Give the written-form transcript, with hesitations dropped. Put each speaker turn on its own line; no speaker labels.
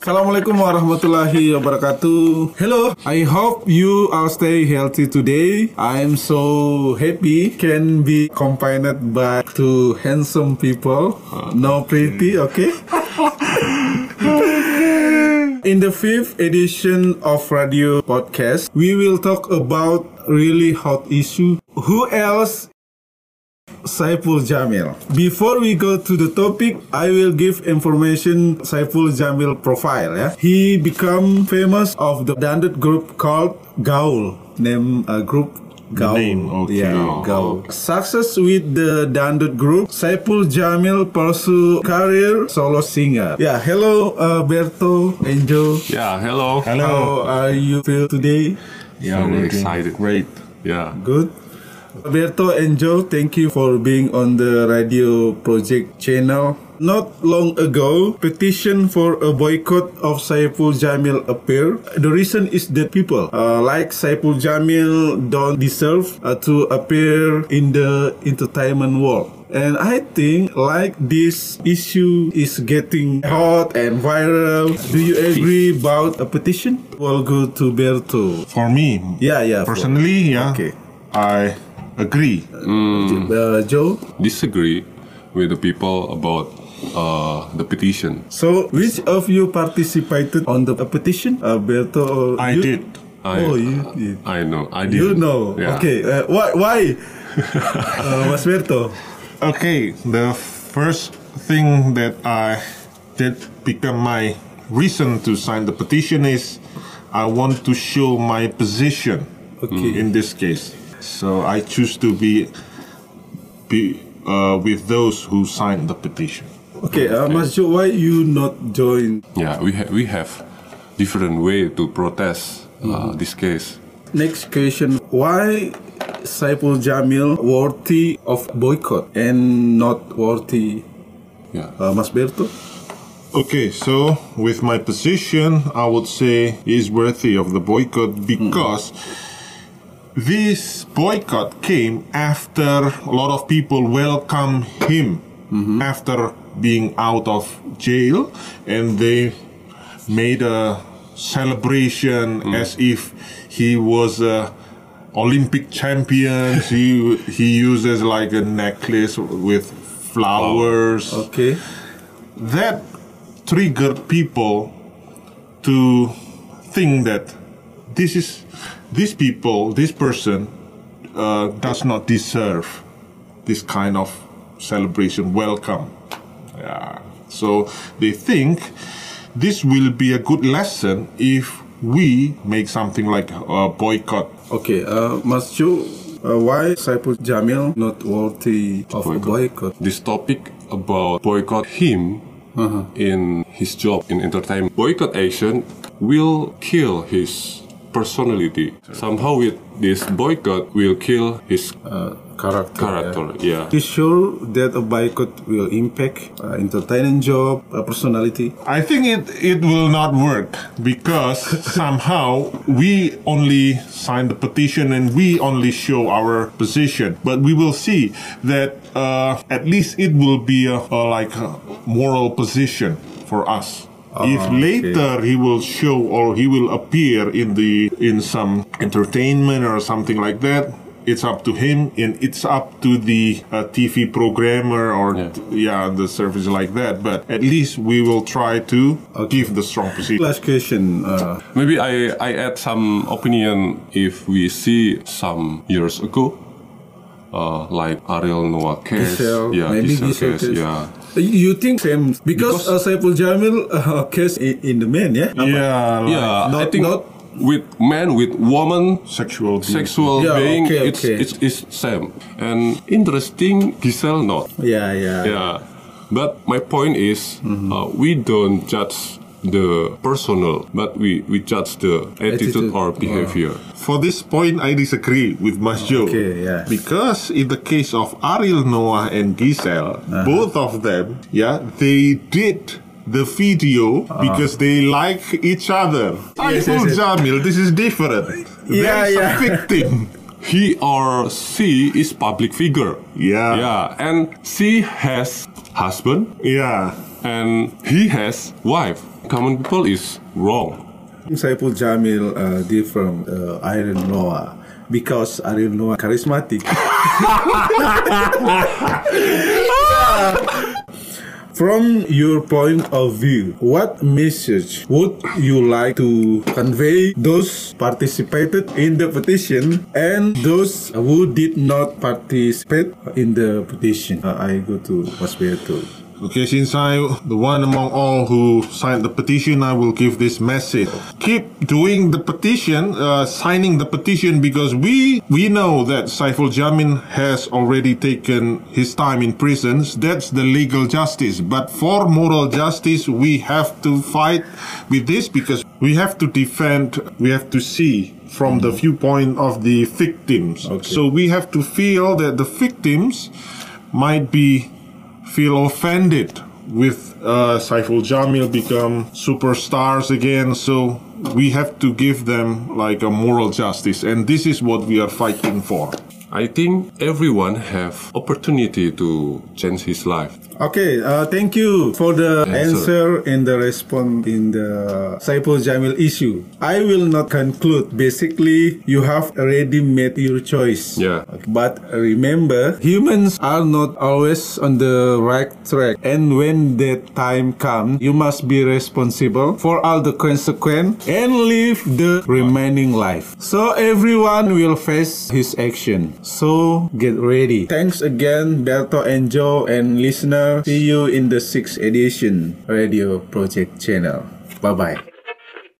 Assalamualaikum warahmatullahi wabarakatuh. Hello, I hope you all stay healthy today. I'm so happy can be combined by two handsome people. No pretty, okay? In the 5th edition of Radio Podcast, we will talk about really hot issue. Who else? Saiful Jamil. Before we go to the topic, I will give information Saiful Jamil profile. Yeah, he become famous of the dandut group called Gaul. Name group Gaul.
Name, okay.
Yeah, Gaul. Success with the dandut group. Saiful Jamil pursue career solo singer. Yeah, hello Berto and Joe.
Yeah, hello.
How are you feel today?
Yeah,
Very
we're
excited.
Great.
Yeah.
Good. Berto and Joe, thank you for being on the radio project channel. Not long ago, petition for a boycott of Saiful Jamil appeared. The reason is that people like Saiful Jamil don't deserve to appear in the entertainment world. And I think like this issue is getting hot and viral. Do you agree about a petition? We'll go to Berto.
For me,
Yeah.
personally,
Okay.
I agree.
Joe?
Disagree with the people about the petition.
So, which of you participated on the petition? Berto?
I
you?
did.
I
You did.
I know. I did.
You know.
Yeah.
Okay. Why? Mas Berto?
Okay, the first thing that become my reason to sign the petition is I want to show my position.
Okay.
In this case, so I choose to be with those who signed the petition.
Okay. Mas Joe, why you not join?
Yeah. We have different way to protest this case.
Next question. Why Saiful Jamil worthy of boycott and not worthy?
Yeah.
Mas Berto?
Okay, so with my position, I would say he's worthy of the boycott because this boycott came after a lot of people welcome him after being out of jail, and they made a celebration as if he was a Olympic champion. He uses like a necklace with flowers.
Okay.
That triggered people to think that this person does not deserve this kind of celebration, welcome. So they think this will be a good lesson if we make something like a boycott.
Okay. Mas Joe, why Saiful Jamil not worthy of a boycott?
This topic about boycott him in his job in entertainment. Boycott action will kill his personality. Somehow with this boycott will kill his character. Yeah.
You sure that a boycott will impact entertainment job, personality?
I think it will not work because somehow we only sign the petition and we only show our position. But we will see that at least it will be a moral position for us. If later he will show or he will appear in some entertainment or something like that, it's up to him and it's up to the TV programmer or the service like that. But at least we will try to give the strong position.
Last question.
Maybe I add some opinion. If we see some years ago, like Ariel Noah case,
Giselle
case.
case.
Yeah.
You think same because Saiful Jamil case in the man, yeah?
I think with man with woman
Sexual
being
okay.
it's same and interesting. Giselle not.
Yeah.
But my point is we don't judge the personal, but we judge the attitude or behavior.
For this point, I disagree with Mas Joe.
Okay, yeah.
Because in the case of Ariel Noah and Giselle, both of them, they did the video because they like each other. Saiful Jamil, this is different. There's a victim.
He or she is public figure.
Yeah.
And she has husband.
Yeah.
and he has wife. Common people is wrong.
Saiful Jamil different from Ariel Noah because Ariel Noah charismatic. From your point of view, what message would you like to convey those participated in the petition and those who did not participate in the petition? I go to Mas Berto.
Okay, since I'm the one among all who signed the petition, I will give this message. Keep doing the petition, signing the petition, because we know that Saiful Jamil has already taken his time in prisons. That's the legal justice. But for moral justice, we have to fight with this because we have to defend, we have to see from the viewpoint of the victims.
Okay.
So we have to feel that the victims might feel offended with Saiful Jamil become superstars again. So we have to give them like a moral justice, and this is what we are fighting for.
I think everyone have opportunity to change his life.
Okay, thank you for the answer and the response in the Saiful Jamil issue. I will not conclude. Basically, you have already made your choice.
Yeah.
But remember, humans are not always on the right track. And when that time comes, you must be responsible for all the consequences and live the remaining life. So everyone will face his action. So get ready. Thanks again, Berto and Joe and listener. See you in the 6th edition Radio Project channel. Bye-bye.